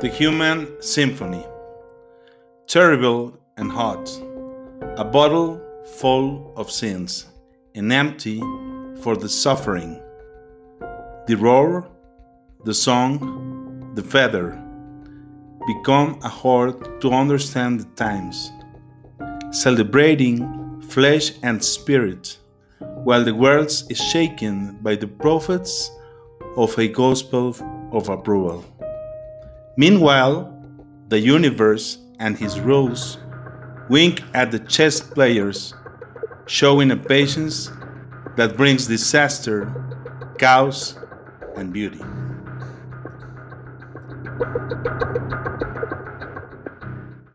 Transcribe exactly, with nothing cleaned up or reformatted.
The Human Symphony. Terrible and hot. A bottle full of sins and empty for the suffering. The roar, the song, the feather become a horde to understand the times, celebrating flesh and spirit, while the world is shaken by the prophets of a gospel of approval. Meanwhile, the universe and his rules wink at the chess players, showing a patience that brings disaster, chaos, and beauty.